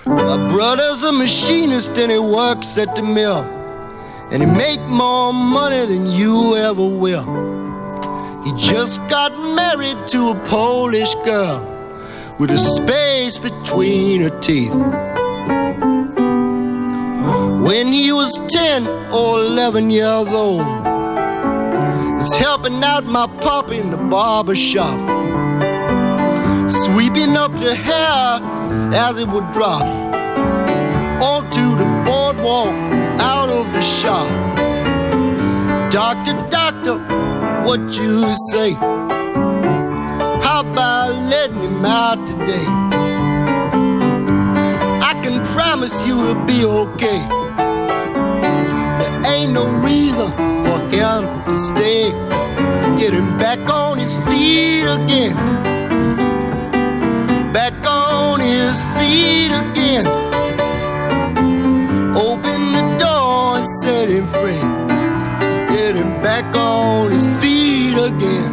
My brother's a machinist and he works at the mill, and he make more money than you ever will. He just got married to a Polish girl with a space between her teeth. When he was 10 or 11 years old, he's helping out my pop in the barber shop, sweeping up the hair as it would drop onto the boardwalk out of the shop. Doctor, doctor, what you say? How about letting him out today? I can promise you it'll be okay. There ain't no reason for him to stay. Get him back on his feet again. Back on his feet again. Open the door and set him free. Get him back on his feet again.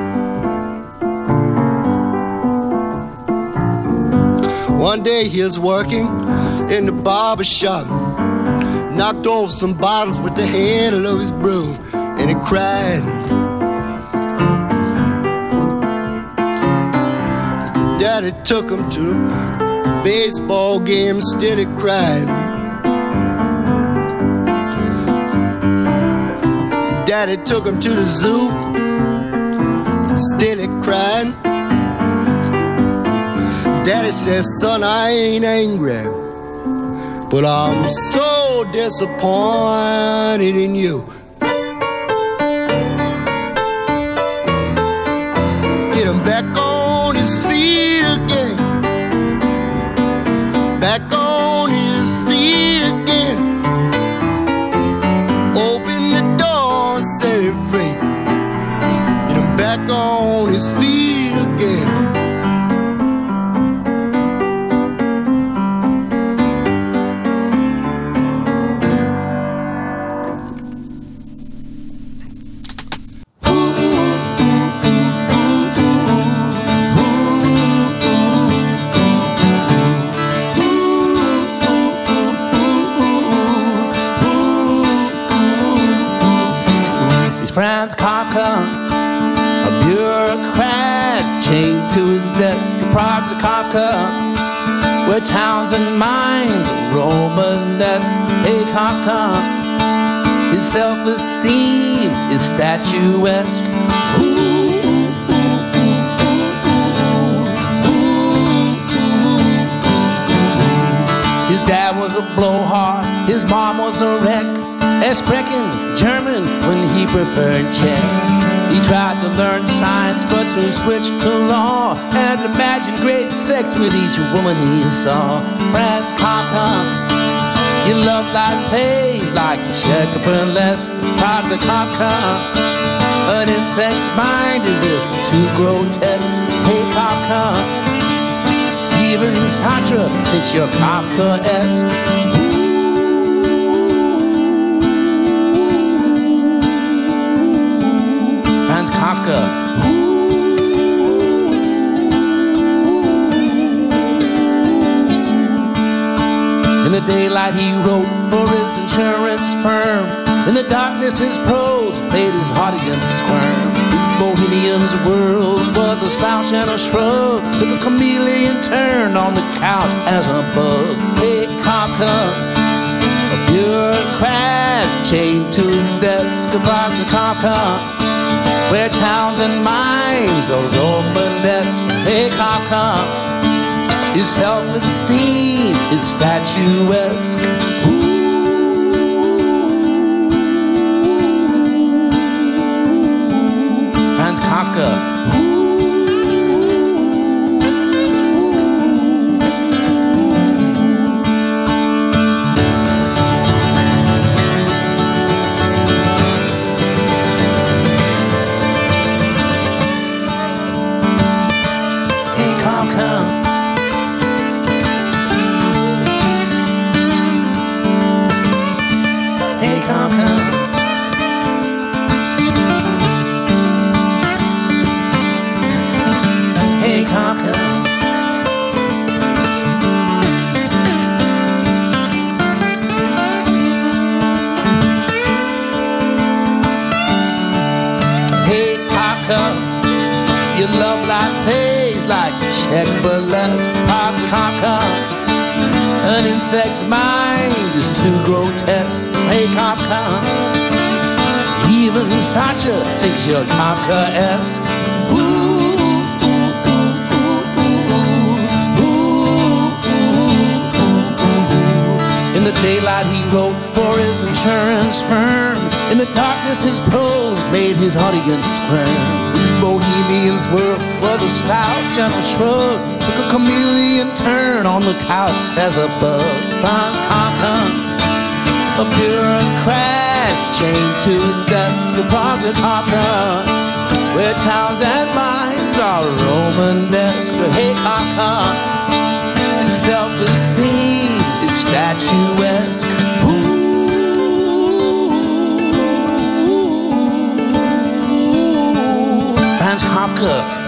One day he was working in the barber shop, knocked off some bottles with the handle of his broom, and he cried. Daddy took him to the baseball game, still he cried. Daddy took him to the zoo, still he cried. Daddy says, son, I ain't angry, but I'm so disappointed in you. Get him back on his feet again. Back on his feet again. Open the door, set him free. Get him back on his feet again. Franz Kafka, a bureaucrat chained to his desk. Prague to Kafka, where towns and minds are Romanesque. Hey Kafka, his self-esteem is statuesque. His dad was a blowhard, his mom was a wreck. Sprechen German when he preferred Czech. He tried to learn science but soon switched to law and imagined great sex with each woman he saw. Franz Kafka, he loved life plays like Czech burlesque. Prague to Kafka, an insect's mind is just too grotesque. Hey Kafka, even Sartre thinks you're Kafkaesque. Kafka. In the daylight he wrote for his insurance firm. In the darkness his prose made his heart again squirm. His bohemian's world was a slouch and a shrug, like a chameleon turned on the couch as a bug. Hey Kafka, a bureaucrat chained to his desk. About the Kafka, where towns and minds are Romanesque. Hey Kafka, his self-esteem is statuesque. Franz Kafka. check, but let's pop the Kafka. An insect's mind is too grotesque. Hey Kafka, even Sacha thinks you're Kafkaesque. In the daylight he wrote for his insurance firm. In the darkness his prose made his audience squirm. This bohemian's world was a slouch and a shrug. Took a chameleon turn on the couch as a bug. A bureaucrat chained to his desk. A project hopper where towns and minds are Romanesque. Hey, self-esteem is statuesque. Franz Kafka.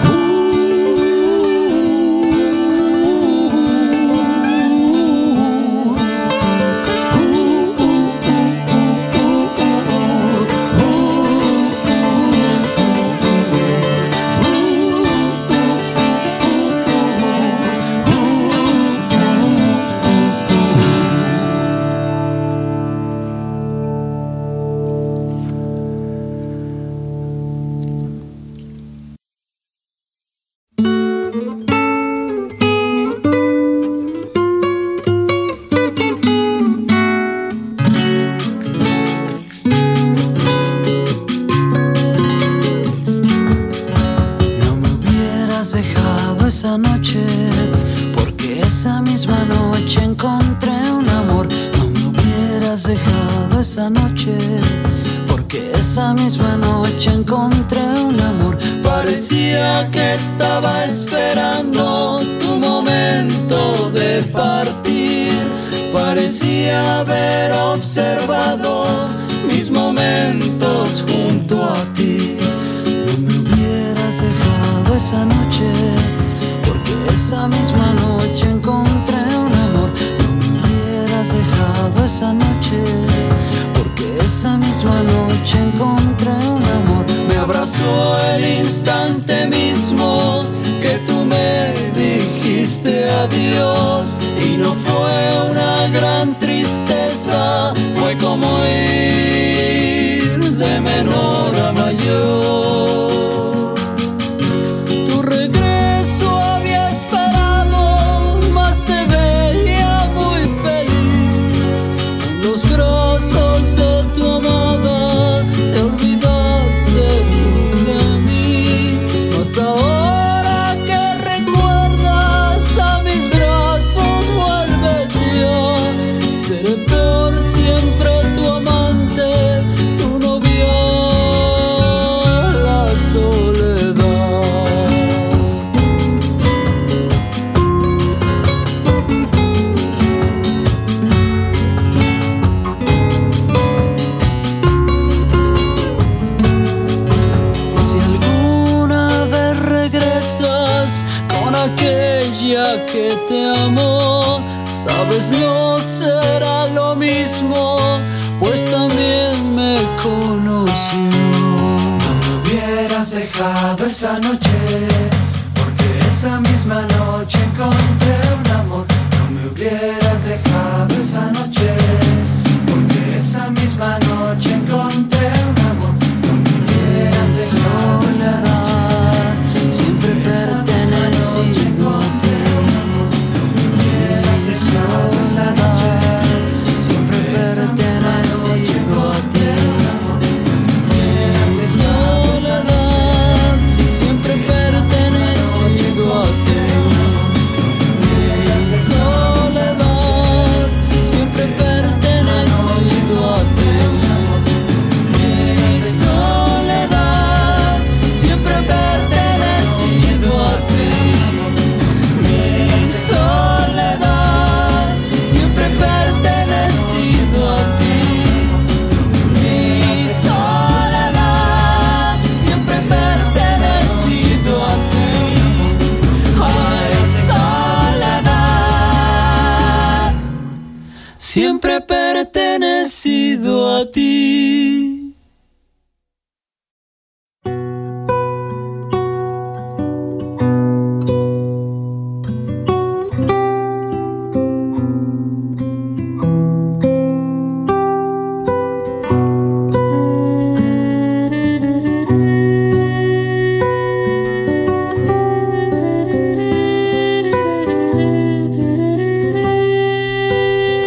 Esa noche, porque esa misma noche encontré un amor. No me hubieras dejado esa noche, porque esa misma noche encontré un amor. Parecía que estaba esperando tu momento de partir. Parecía haber observado mis momentos junto a ti. No me hubieras dejado esa noche, esa misma noche encontré un amor. No me hubieras dejado esa noche, porque esa misma noche encontré un amor. Me abrazó el instante mismo que tú me dijiste adiós. Y no fue una gran tristeza, fue como ir de menor a mayor. Ahora que recuerdas a mis brazos, vuelves ya. Seré por siempre tu amante, tu novia, la soledad. Si alguna vez regresas con aquella que te amó, sabes, no será lo mismo, pues también me conoció. No me hubieras dejado esa noche, porque esa misma noche encontré un amor. No me hubieras dejado esa noche, porque esa misma noche encontré un amor. No me hubieras dejado esa noche, siempre pertenecido a ti. Soledad, siempre pertenecido a ti. Soledad, siempre pertenecido a ti. Soledad, siempre pertenecido a ti. Soledad, siempre pertenecido a ti. Soledad, siempre pertenecido a ti. Mi soledad, siempre pertenecido a ti. Ay, soledad, siempre pertenecido a ti.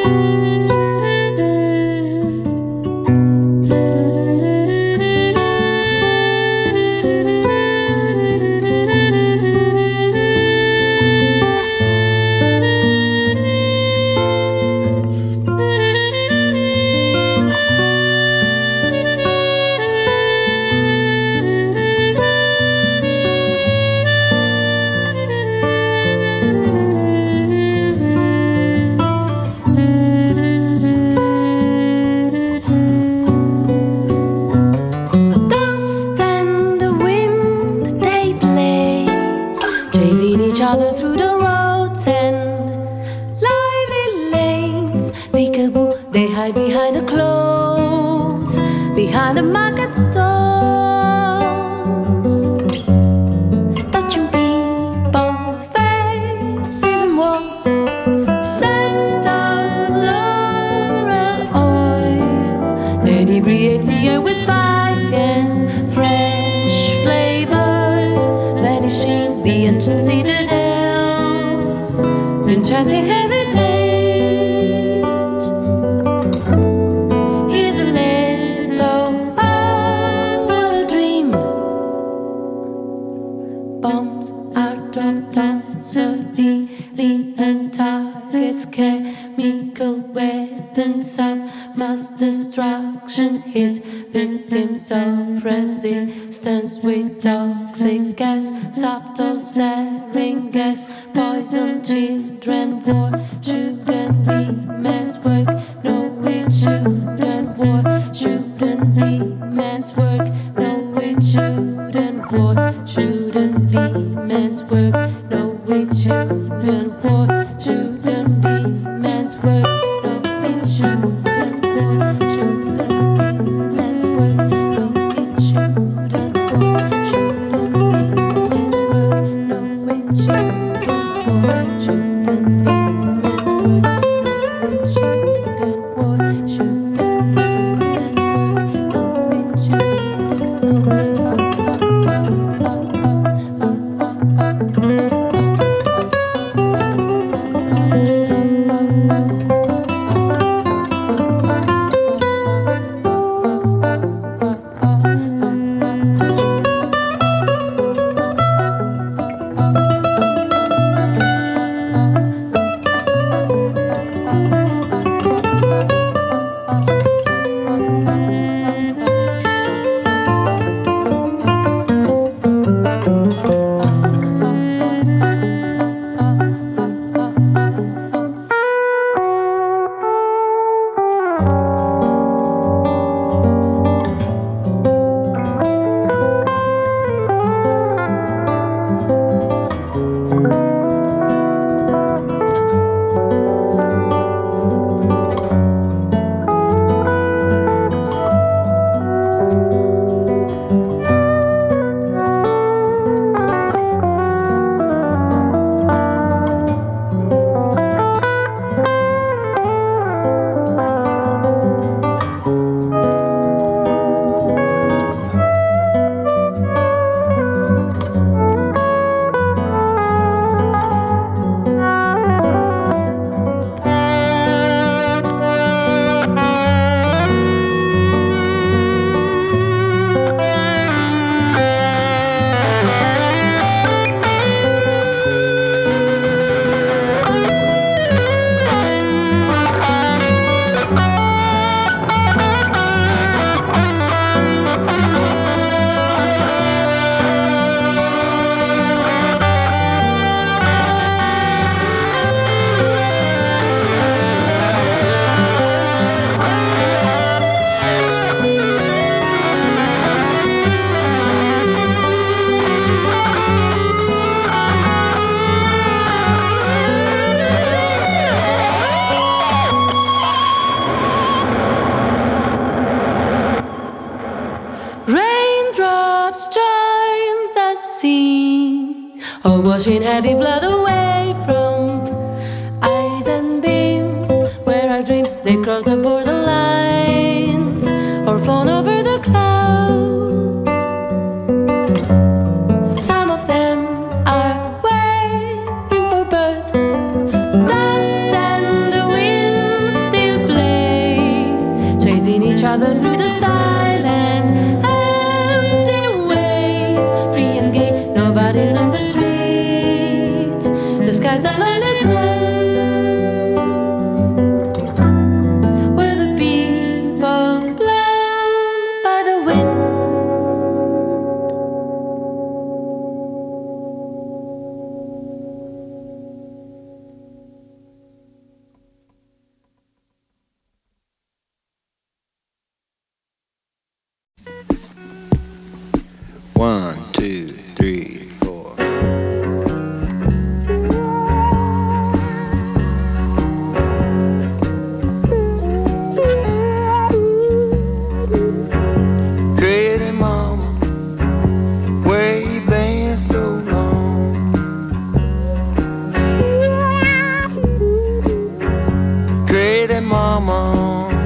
washing heavy blood away from eyes and beams, where our dreams they cross the borderlines or flown over the clouds. Some of them are waiting for birth. Dust and the winds travel through the silent, empty ways, free and gay, nobody's on the streets. The sky's a lonely sun. One, two, three, four. Pretty mama, where you been so long? Pretty mama,